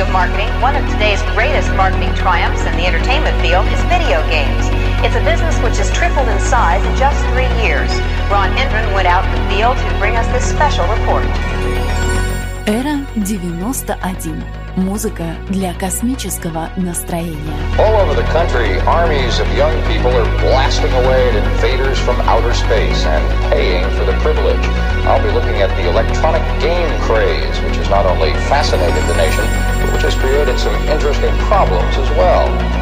of marketing, one of today's greatest marketing triumphs in the entertainment field is video games. It's a business which has tripled in size in just 3 years. Ron Hendren went out in the field to bring us this special report. Эра 91. Музыка для космического настроения. All over the country, armies of young people are blasting away at invaders from outer space and paying for the privilege. I'll be looking at the electronic game craze, which has not only fascinated the nation, but which has created some interesting problems as well.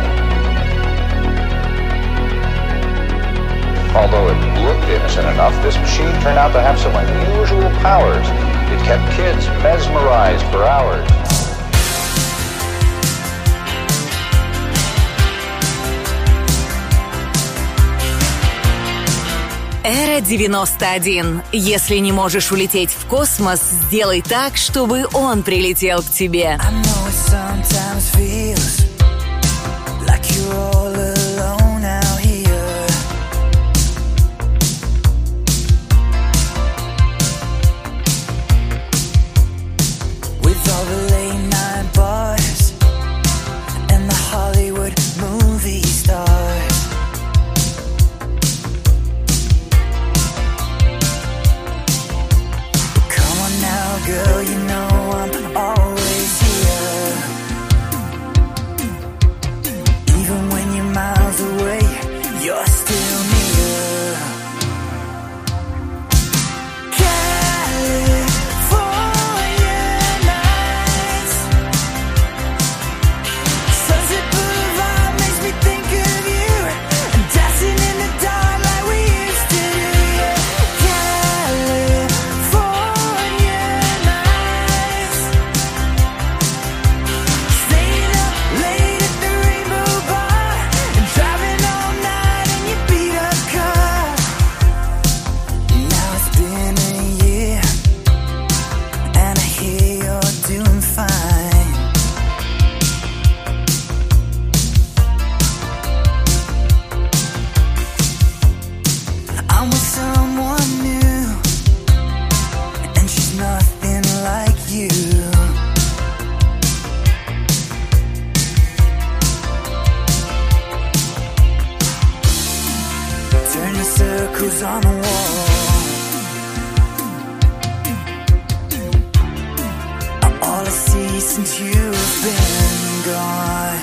Although it looked innocent enough, this machine turned out to have some unusual powers. It kept kids mesmerized for hours. Эра 91. Если не можешь улететь в космос, сделай так, чтобы он прилетел к тебе. Girl, you know I'm always here. Even when you're miles away, you're still near. California nights, Sunset Boulevard makes me think of you, and dancing in the dark like we used to do. California. Circles on the wall. All I see since you've been gone.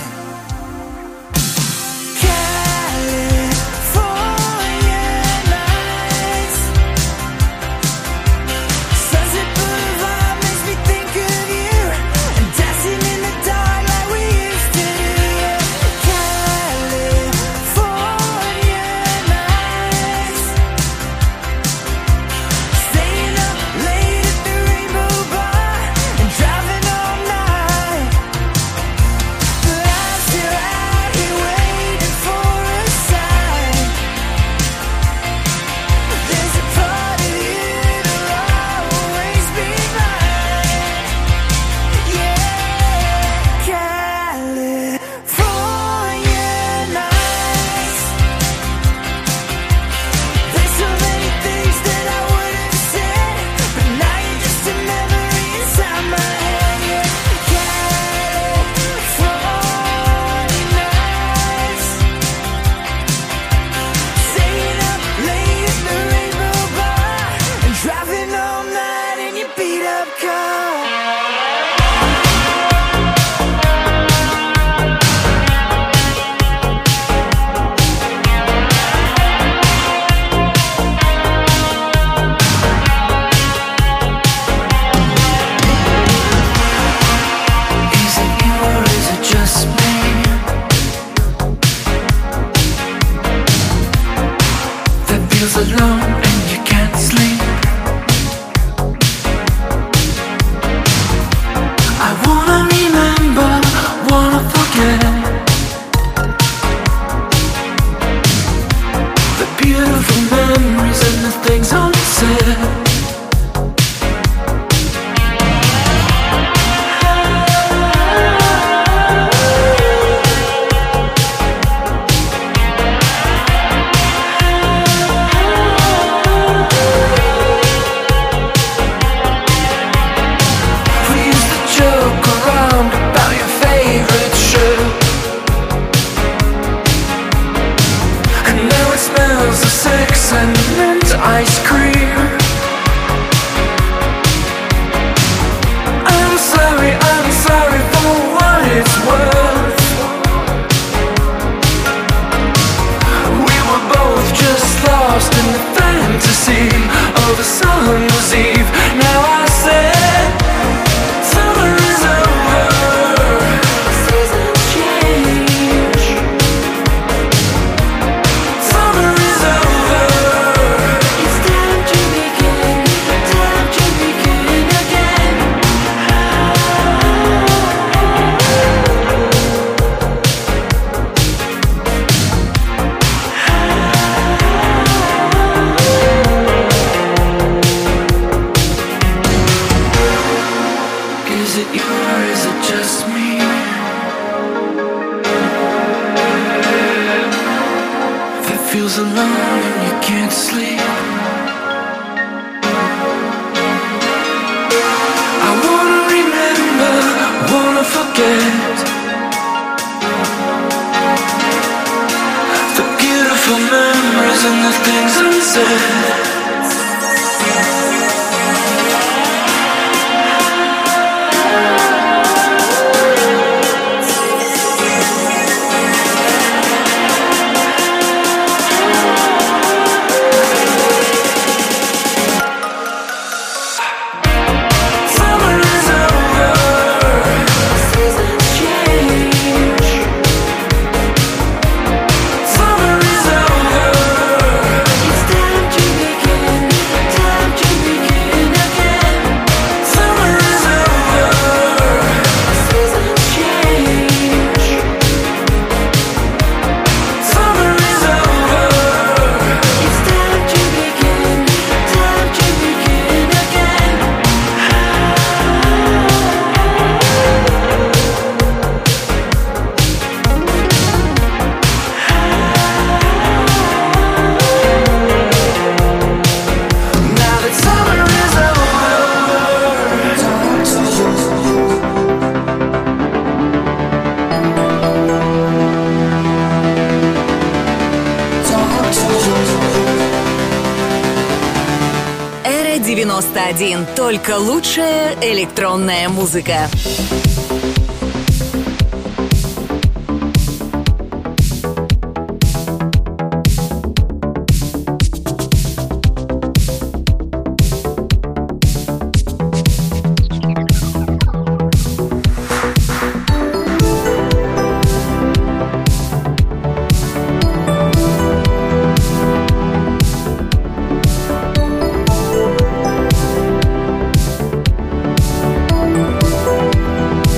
Alone and you can't sleep. Christmas Eve. Now I said, summer is over, seasons change. Summer is over, it's time to begin again. Is it you or is it just me? That feels alone and you can't sleep. I wanna remember, wanna forget the beautiful memories and the things unsaid. Summer is over, seasons change. Summer is over, it's time to begin again. Summer is over, seasons change. Summer is over, it's time to begin again. Now that summer is Эра 91. Только лучшая электронная музыка. over.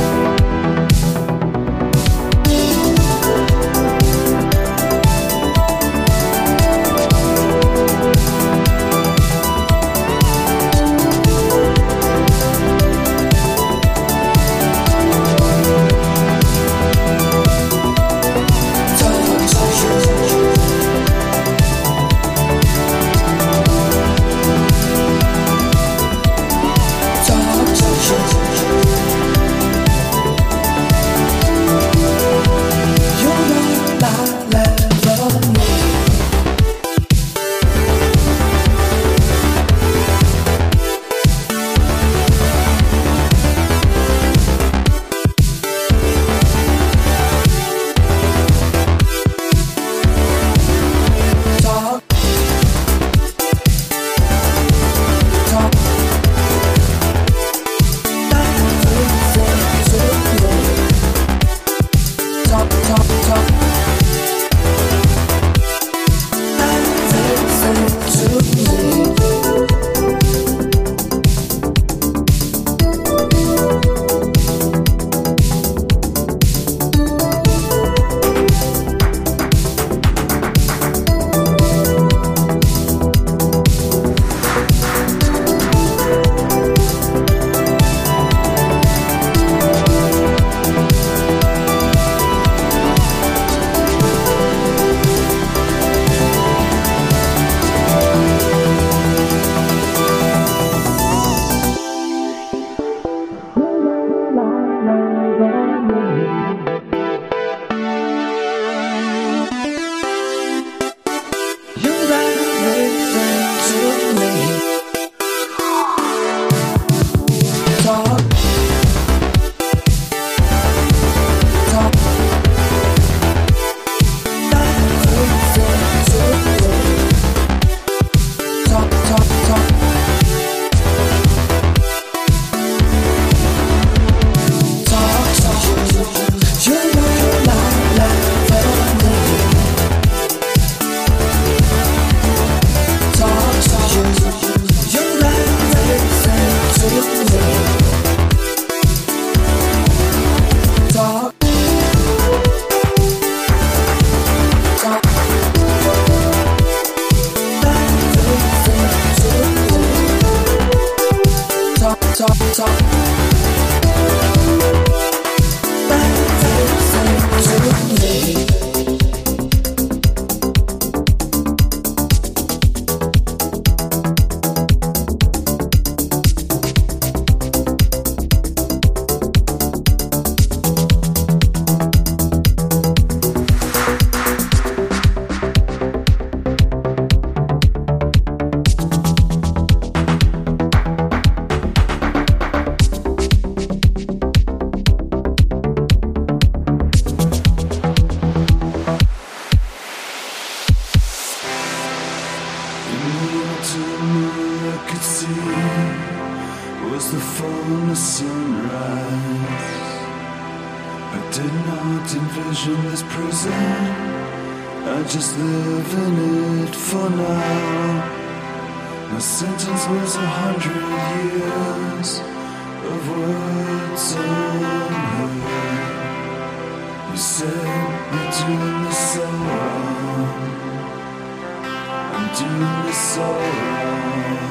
was the fullness sunrise. I did not envision this prison, I just live in it for now. My sentence was 100 years of words unheard. You said you're doing this all wrong. I'm doing this all wrong.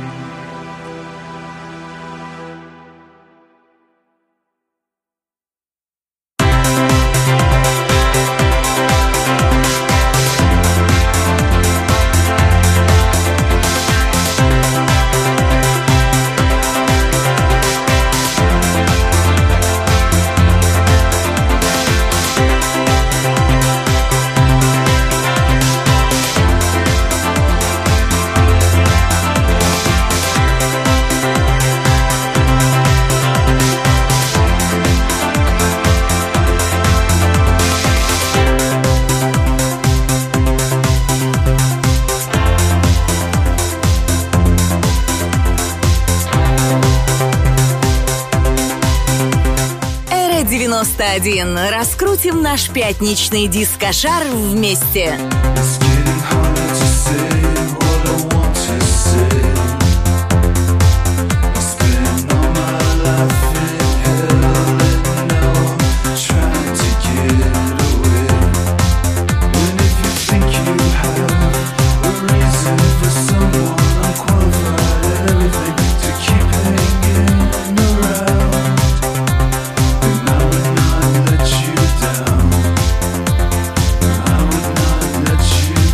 Раскрутим наш пятничный дискошар вместе. Let you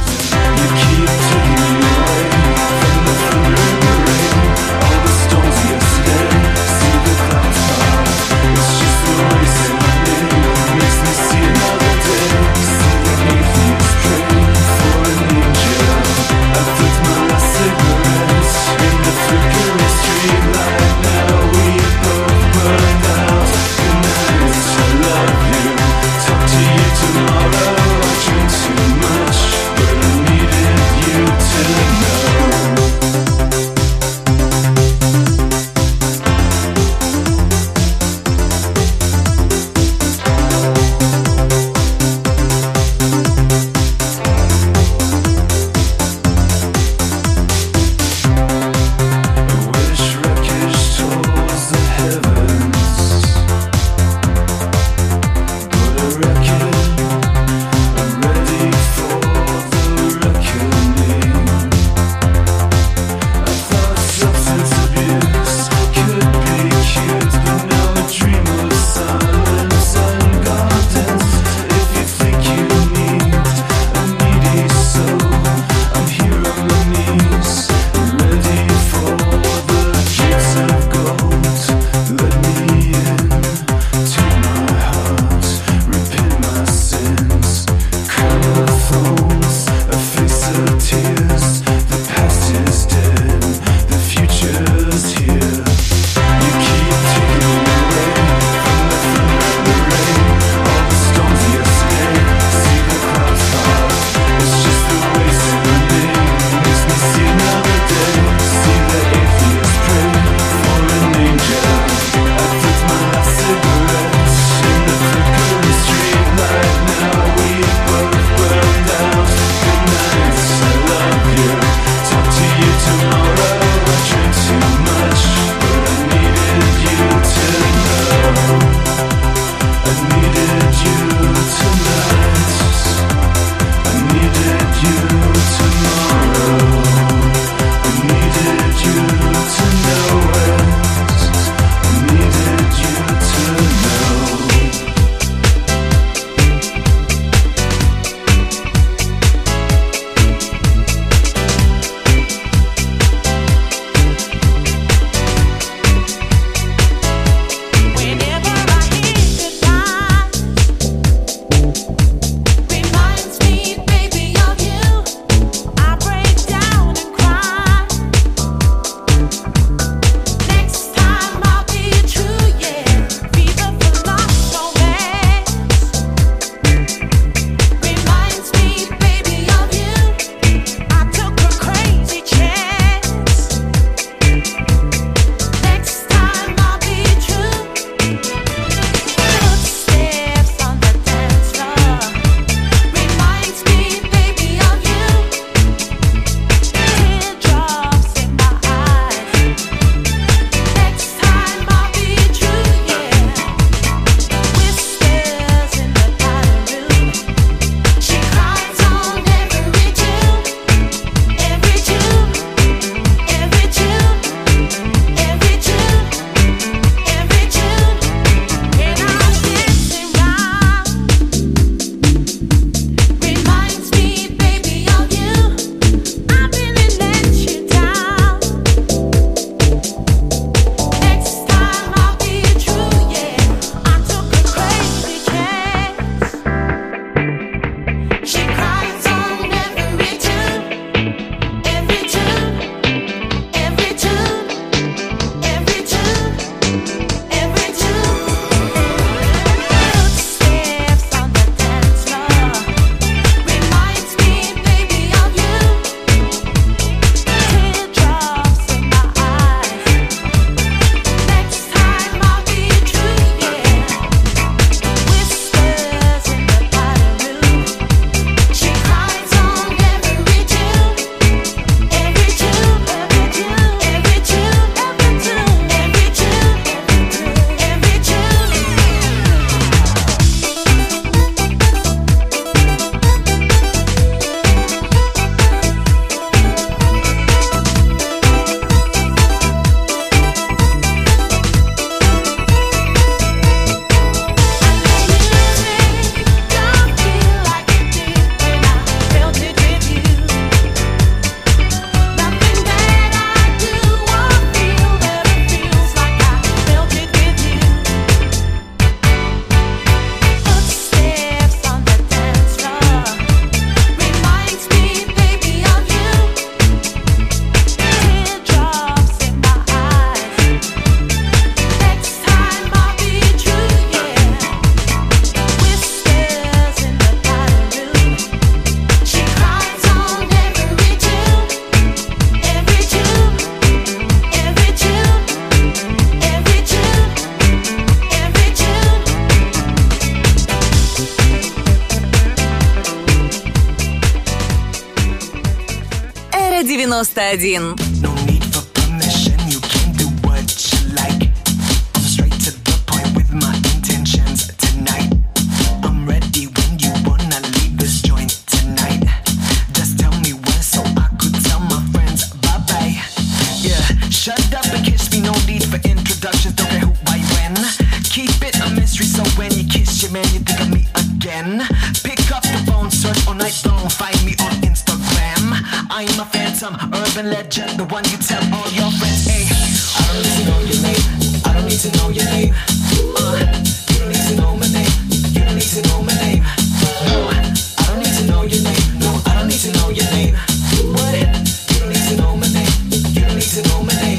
91. No need for permission, you can do what you like. I'm straight to the point with my intentions tonight. I'm ready when you wanna leave this joint tonight. Just tell me when so I could tell my friends bye-bye. Yeah, shut up and kiss me, no need for introductions, don't care who, why, when. Keep it a mystery so when you kiss your man you think of me again. Pick up the phone, search all night long, find me on Instagram. I'm a phantom, urban legend, the one you tell all your friends. Hey, I don't need to know your name, I don't need to know your name. You don't need to know my name, you don't need to know my name. No, I don't need to know your name, no, I don't need to know your name. What? You don't need to know my name, you don't need to know my name.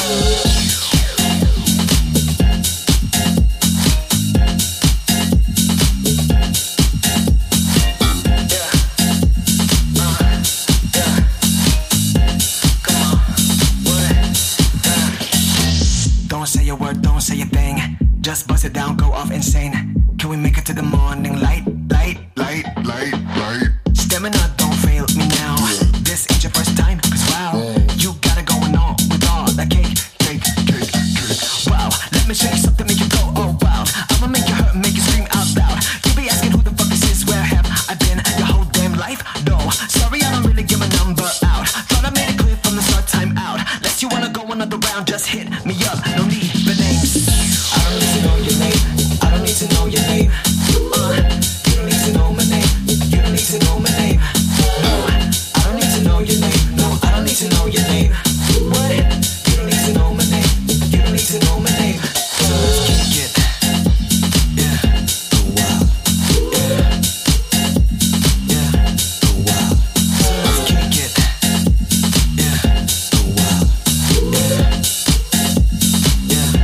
Say a word, don't say a thing. Just bust it down, go off insane. Can we make it to the morning light? Light, light, light, light. Stamina, don't fail me now. This ain't your first time, cause wow, you got it going on with all that cake, cake, cake, cake. Wow, let me show you something, make you go, oh wow. I'ma make you hurt, make you scream out loud. You be asking who the fuck this is, where have I been your whole damn life? No, sorry, I don't really give a number out. Thought I made it clear from the start, time out. Unless you wanna go another round, just hit me up, no need for names. I don't need to know your name, I don't need to know your name. You don't need to know my name, you don't need to know my name. No, I don't need to know your name, no, I don't need to know your name. What? You don't need to know my name, you don't need to know my name. So let's kick it. Yeah. Oh wow. Yeah. Yeah. Oh wow. So let's kick it. Yeah. Oh wow. Yeah. Yeah.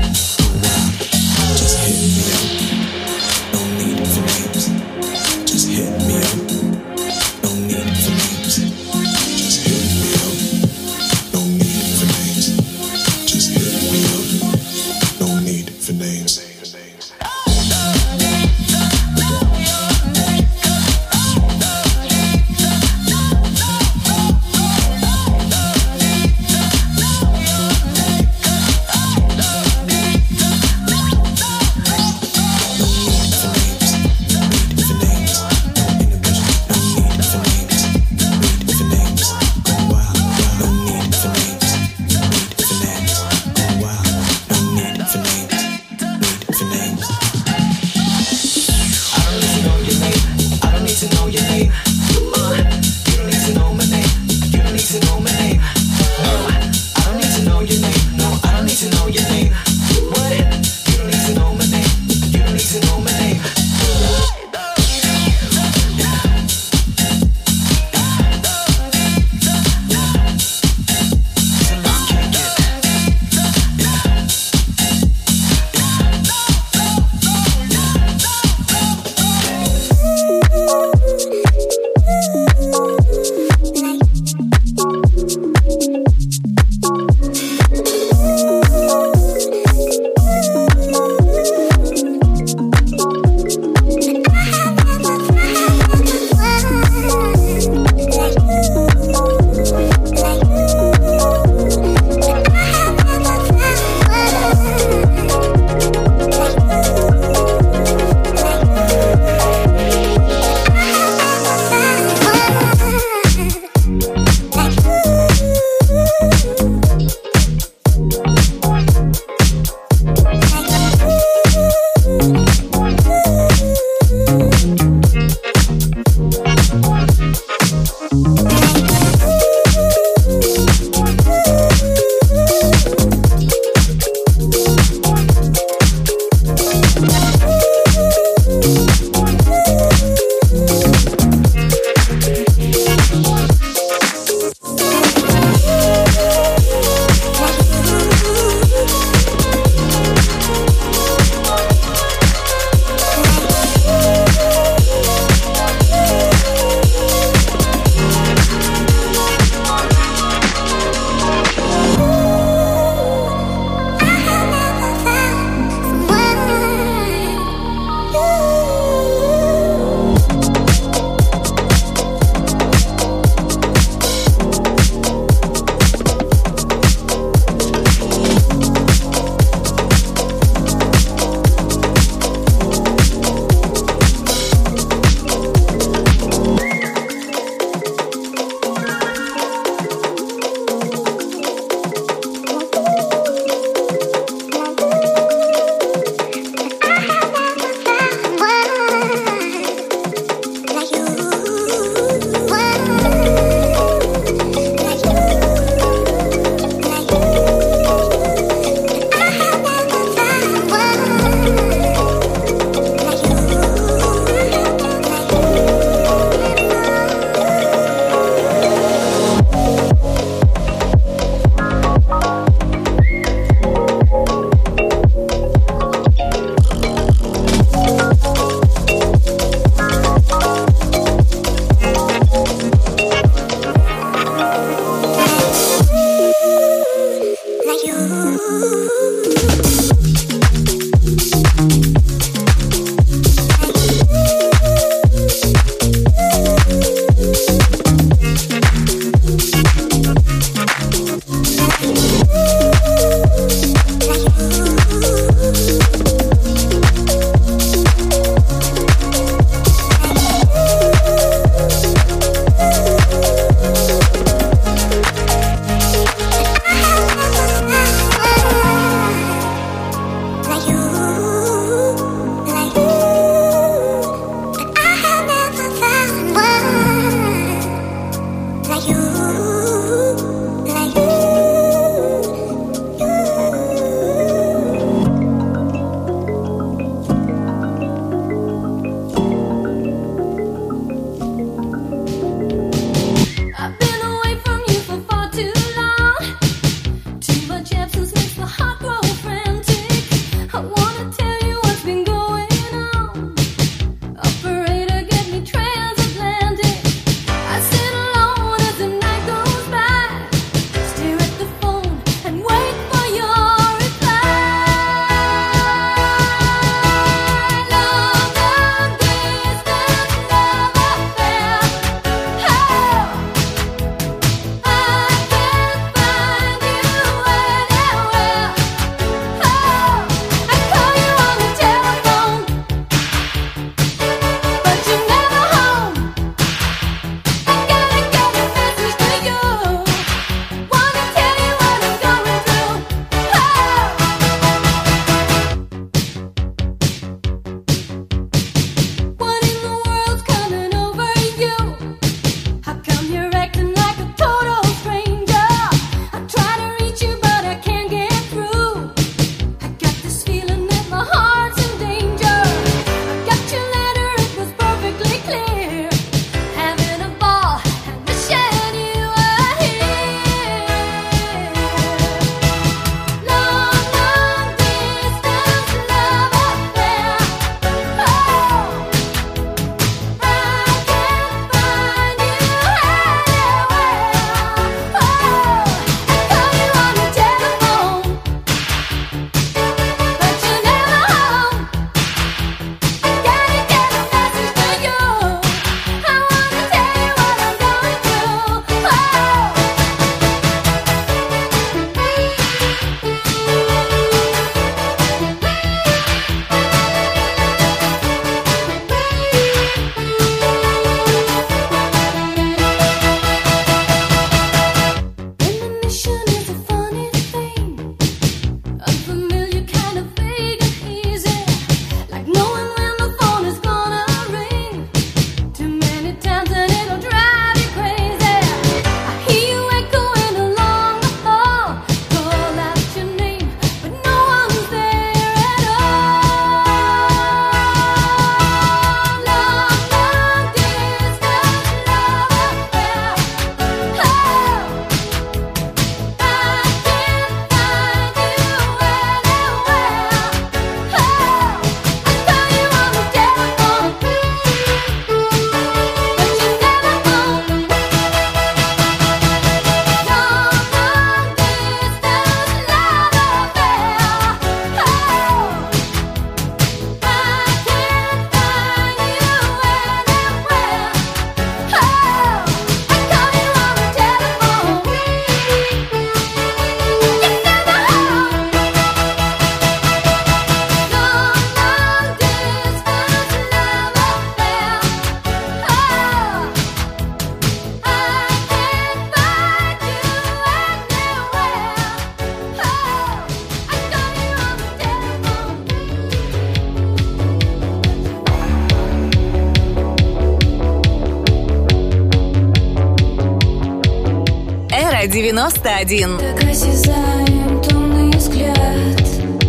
91. Так осязаем томный взгляд,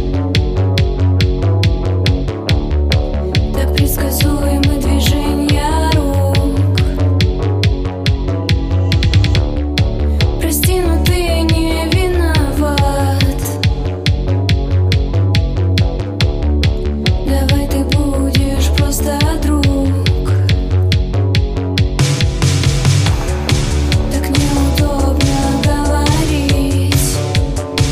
так предсказуемы движения рук. Прости, но ты не виноват. Давай ты будешь просто друг. Так неудобно говорить.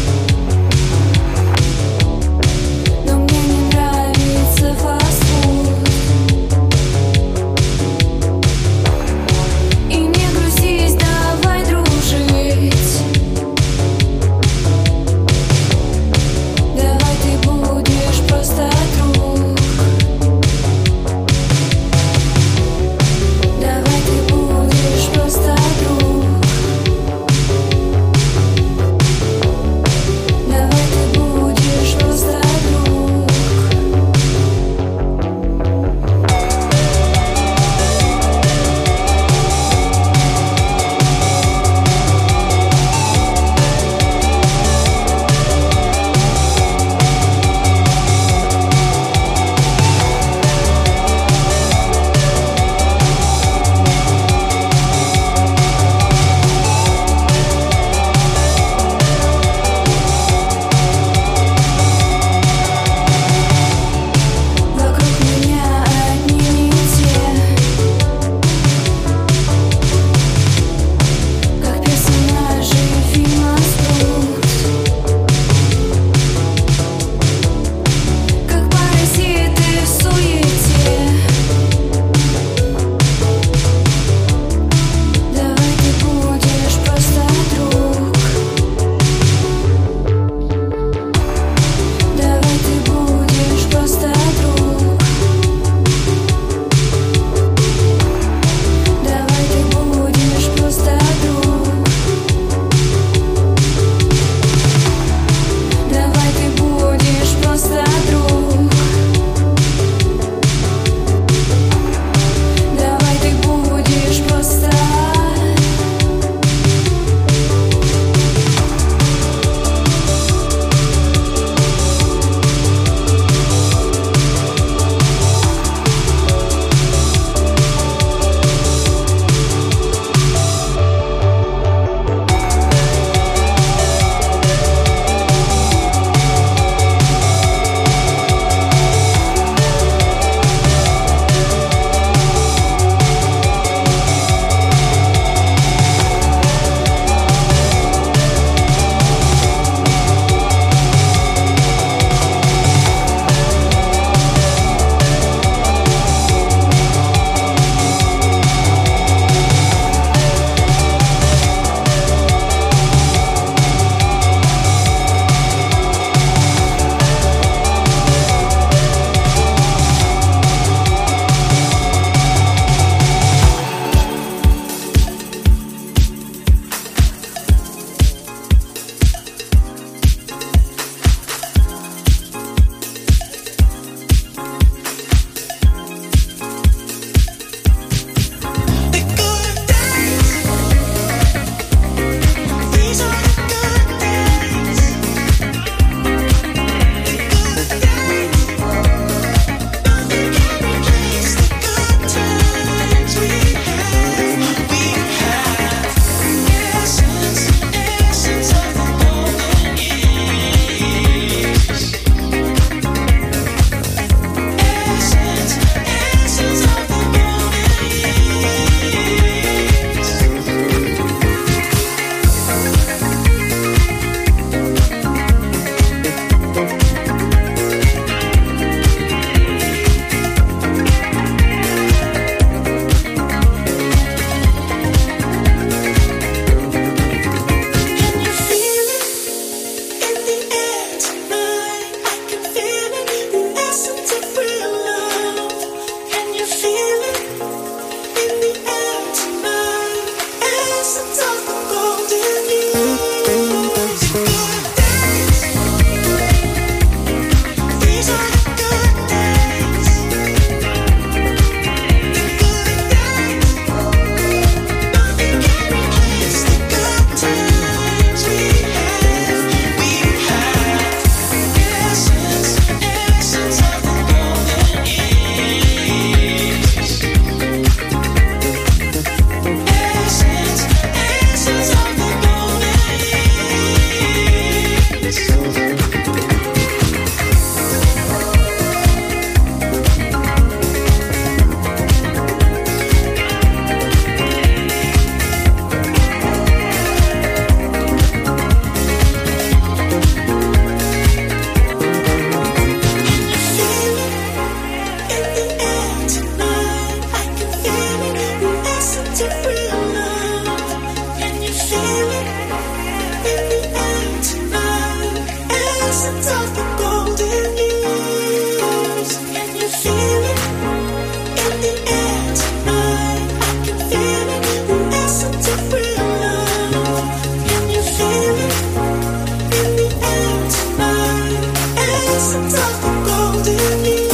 of the golden years. Can you feel it in the air tonight? I can feel it, the essence of real love. Can you feel it in the air tonight? Essence of the golden years.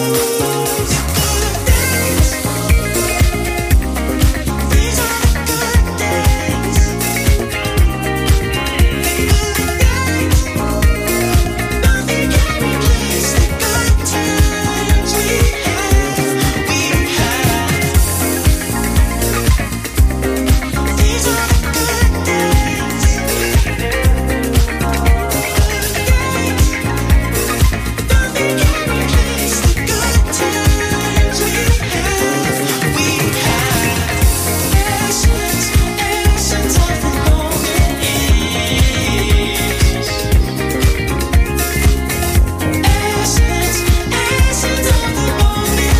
These are the good days. Nothing can replace the good times we had. These are the good days. Nothing can replace the good times we had. Essence of the golden years. Essence of the golden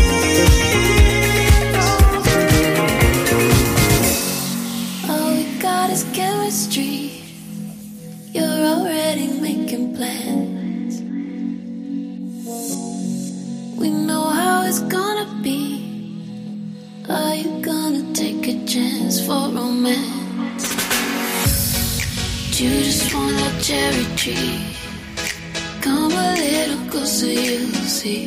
years. All we got is chemistry. You're already making plans. We know how it's gonna be. Are you gonna take a chance for romance? You just want a cherry tree. Come a little closer, you'll see.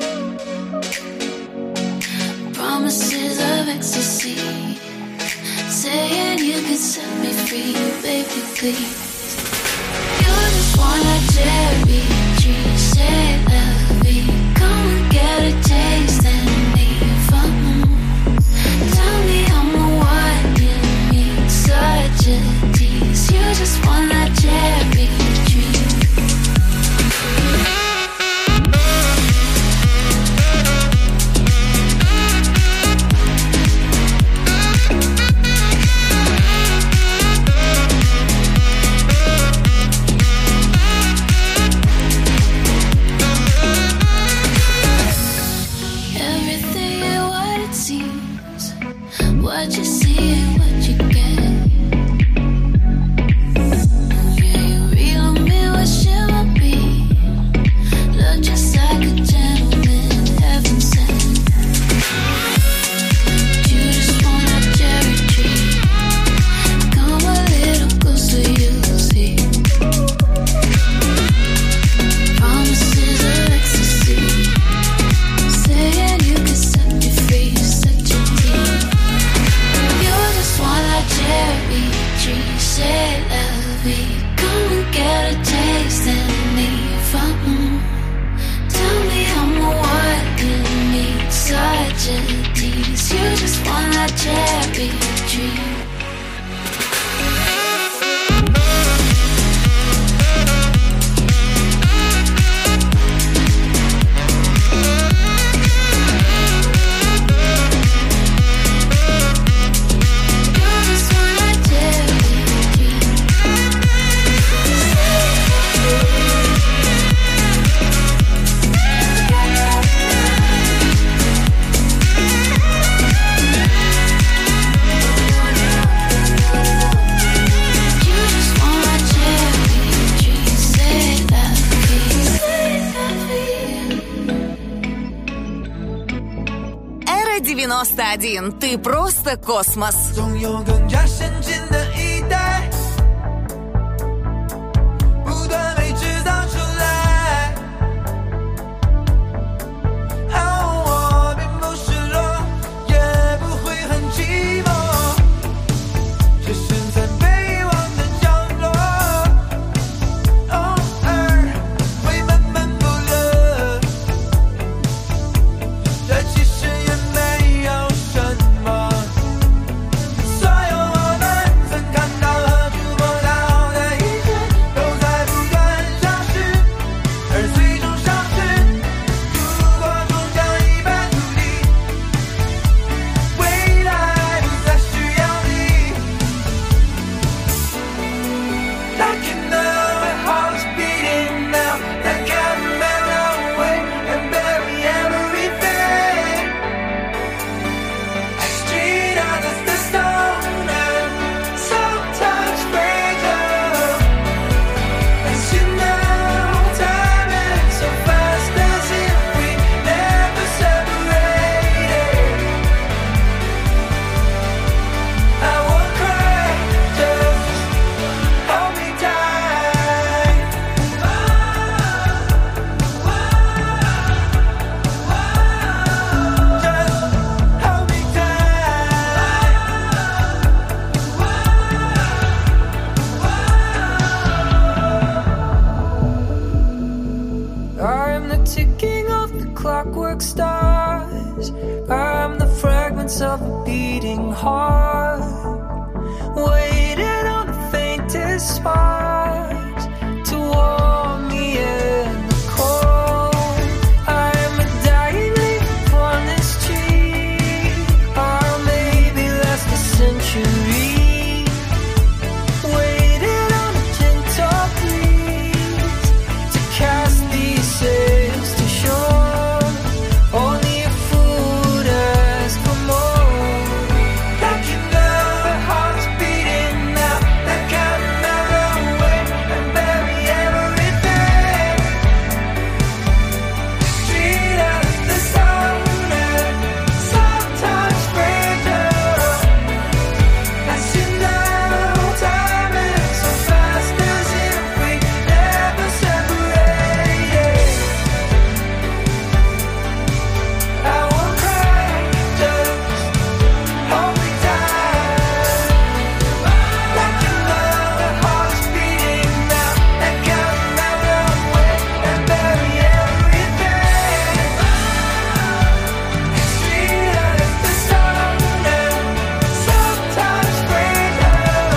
Promises of ecstasy. Saying you can set me free, baby, please. You just want a cherry tree. Say la vie. Come and get a taste and leave. Tell me I'm a what you need. Such a tease. You just want a cherry tree. Everything ain't what it seems. What you see ain't what you get. Yeah, you real me, what should I be? Look just like a gentleman, heaven sent. You just want a cherry tree. Come a little closer, you'll see. Promises of ecstasy. Saying you can set me free, such a tease. You just want a cherry tree. Say la vie. Come and get a taste and leave. Tell me I'm a what you need. Such a tease. You just want a cherry tree. You just want a cherry tree. You just want a cherry tree. Say la vie. Say la vie. Эра 91. Ты просто космос. 总有更加先进的一代，不断被制造出来。我并不失落，也不会很寂寞，只身在被遗忘的角落。偶尔会闷闷不乐，这其实也没有什么。所有我的 ticking of the clockwork stars. I'm the fragments of a beating heart, waiting on the faintest sparks to warm me in the cold. I'm a dying leaf on this tree, or maybe last a century, waiting on a gentle breeze to cast these sails to shore. Only a fool would ask for more. Like you know, the heart's beating now, that can mellow away and bury everything. Street of the sun and sometimes breaker. As you know, time is so fast as if we never separated. I won't cry, just hold me tight. Like you know, the heart's beating now, that can mellow away and bury everything. Street of the sun and sometimes breaker.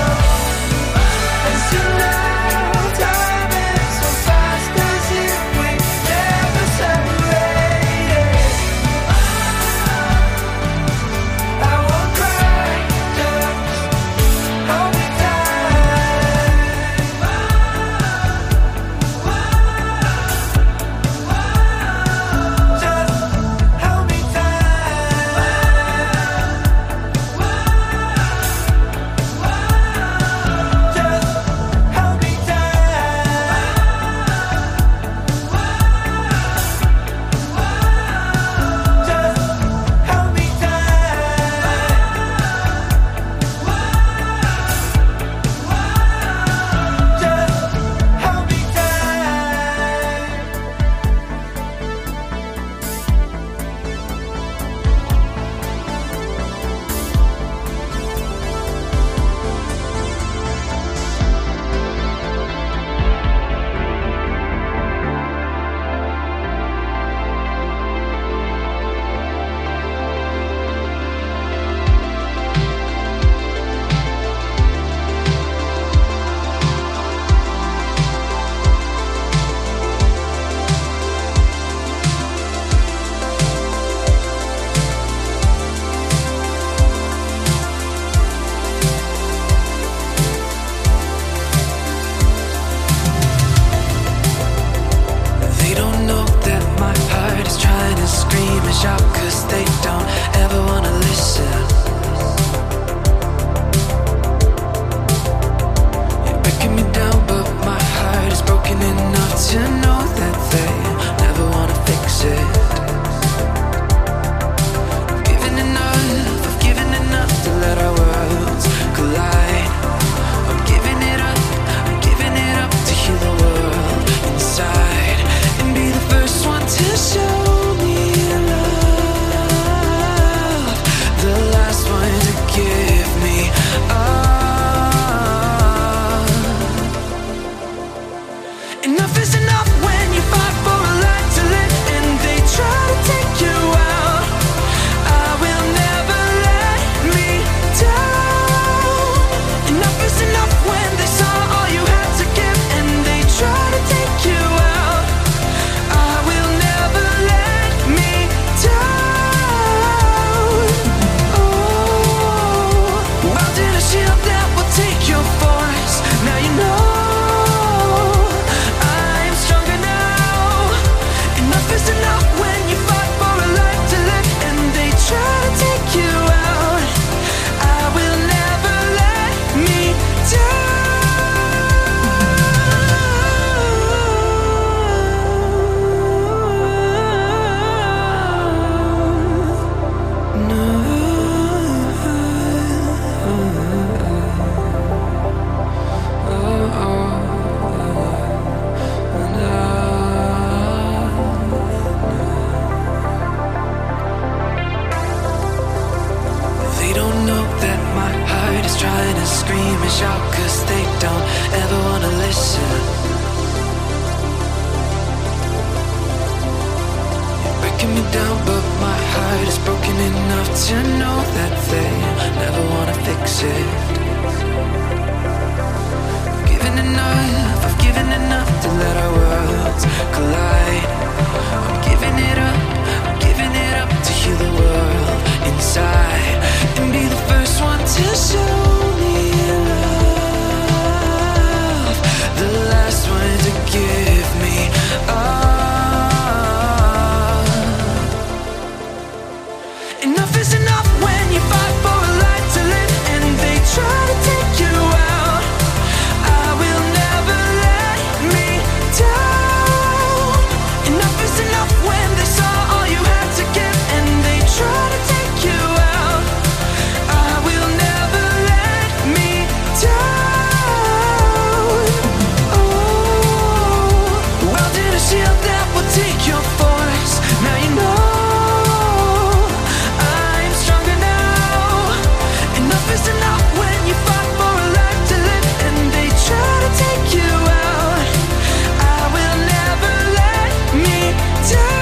As you know, time is so fast as if we never separated. I won't cry, just hold me tight. Just hold me tight. Just hold me tight. Just hold me tight. Just hold me tight. They don't know that my heart is trying to scream and shout, 'cause they don't ever wanna listen. You're breaking me down, but my heart is broken enough to know that they never wanna fix it. I've given enough to let our worlds collide. I'm giving it up to heal the world inside and be the first one to show me love. down, but my heart is broken enough to know that they never wanna fix it. I've given enough to let our worlds collide. I'm giving it up to heal the world inside and be the first one to show me love, the last one to give me up. Enough is enough when you fight for a life to live and they try to take you out. I will never let me down. Enough is enough when they saw all you had to give and they try to take you out. I will never let me down. Oh, well, did a shield that will take your force. Now you know I'm stronger now. Enough is enough when you fight for a life to live and they try to take you out. I will never let me down.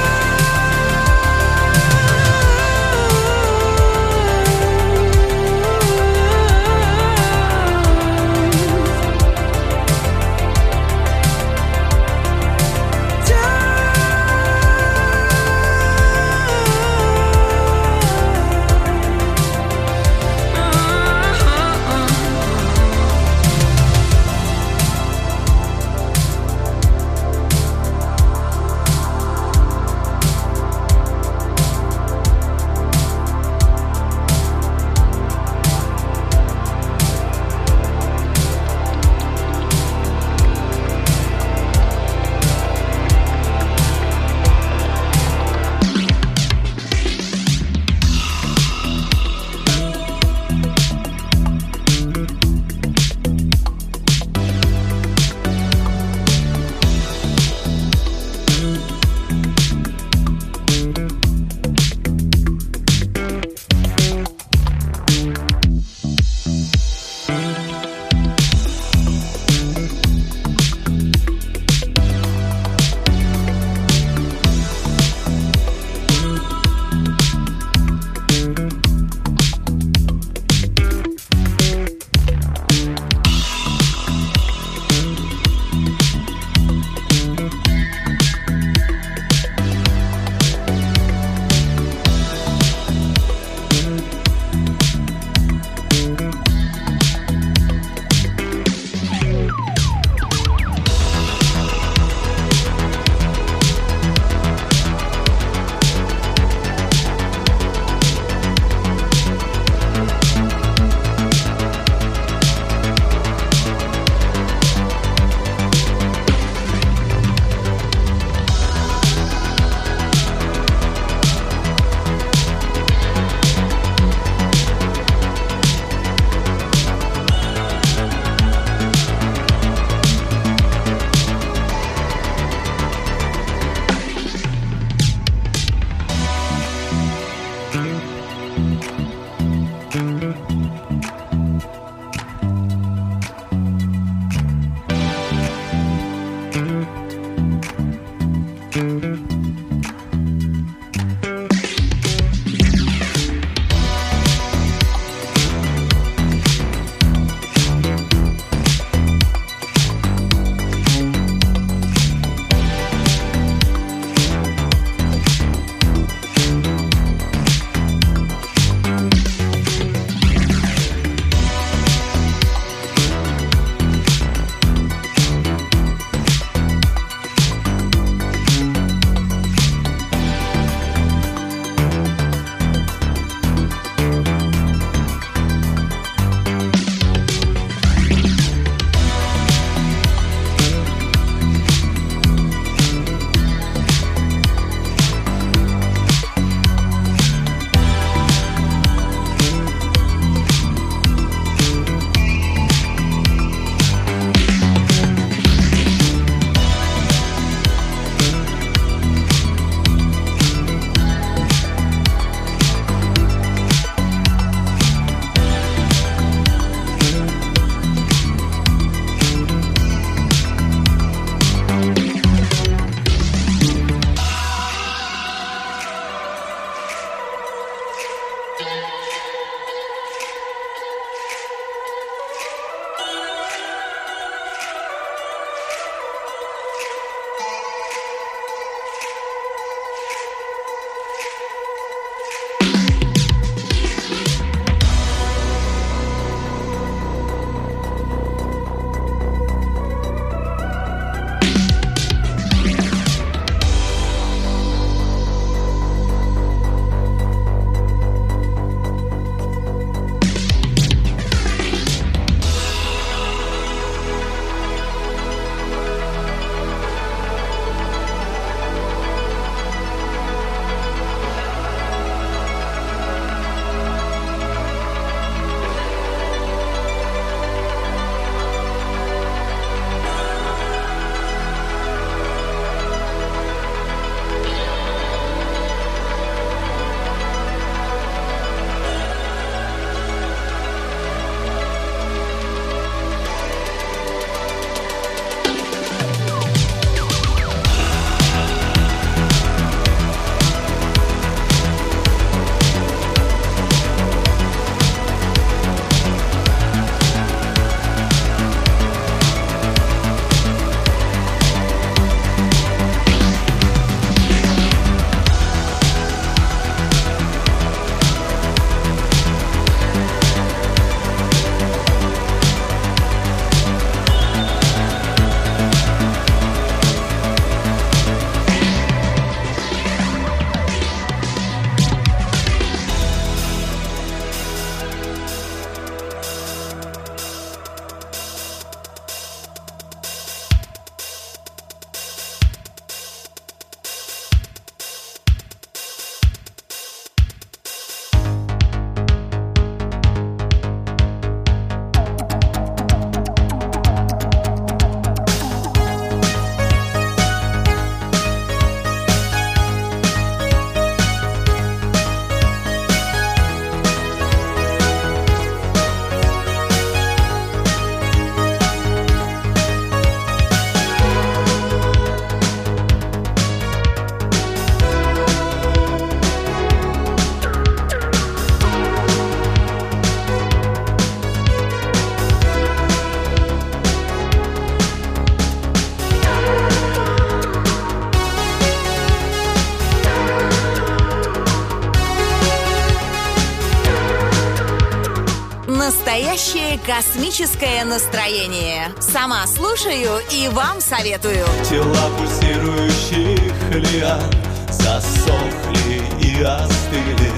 настоящее космическое настроение. Сама слушаю и вам советую. Тела пульсирующих лиан засохли и остыли,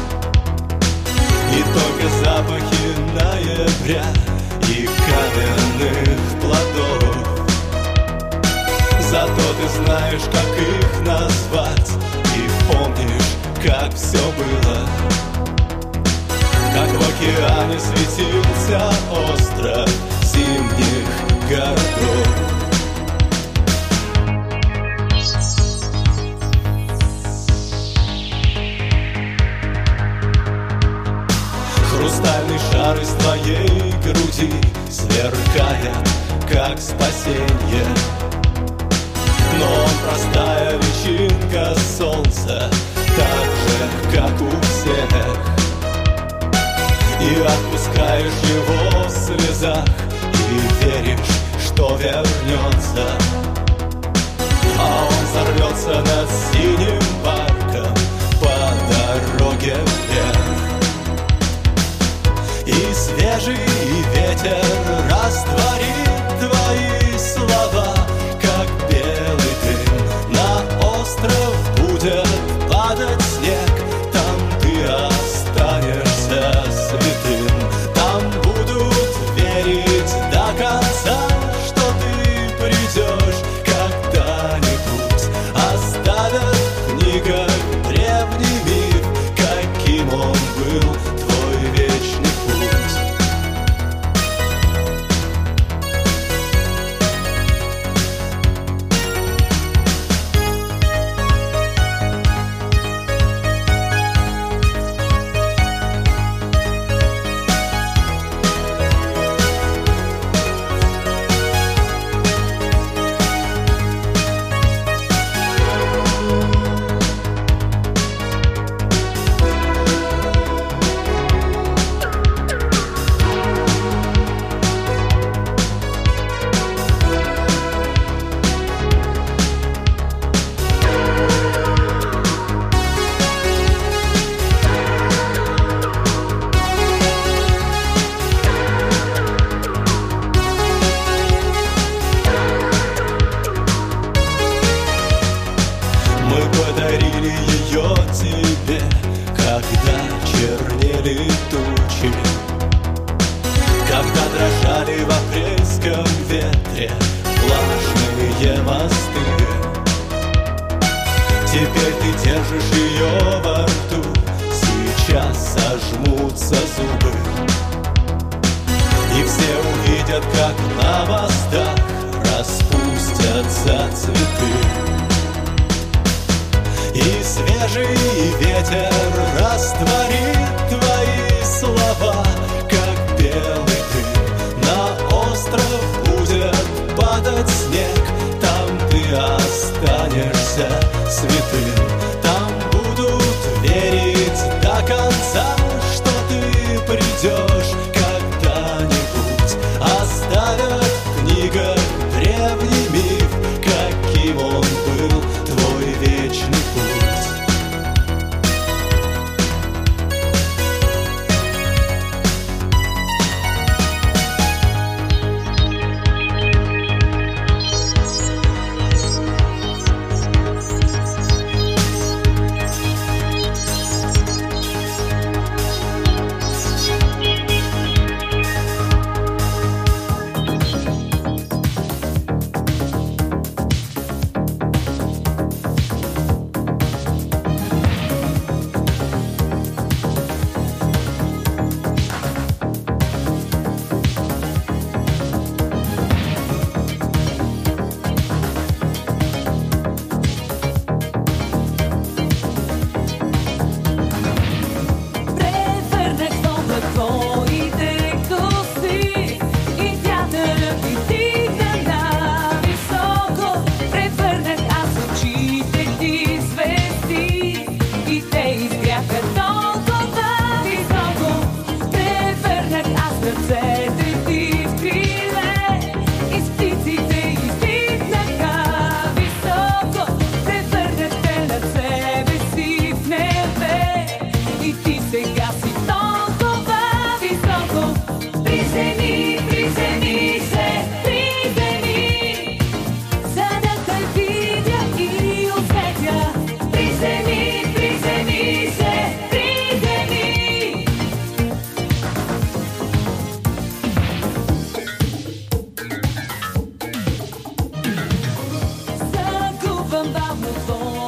и только запахи ноября и каменных плодов. Зато ты знаешь, как их назвать, и помнишь, как все было. Как в океане светился остров зимних городов. Хрустальный шар из твоей груди сверкает, как спасенье. Но он простая личинка солнца, так же, как у всех. И отпускаешь его в слезах, и веришь, что вернется. А он взорвется над синим парком по дороге вверх. И свежий ветер растворит твои слова, как белый дым. На остров будет падать снег, там ты останешься святым. Там будут верить до конца, что ты придешь когда-нибудь. Оставят в книгах древний миф, каким он был, твой вечный путь. about move on.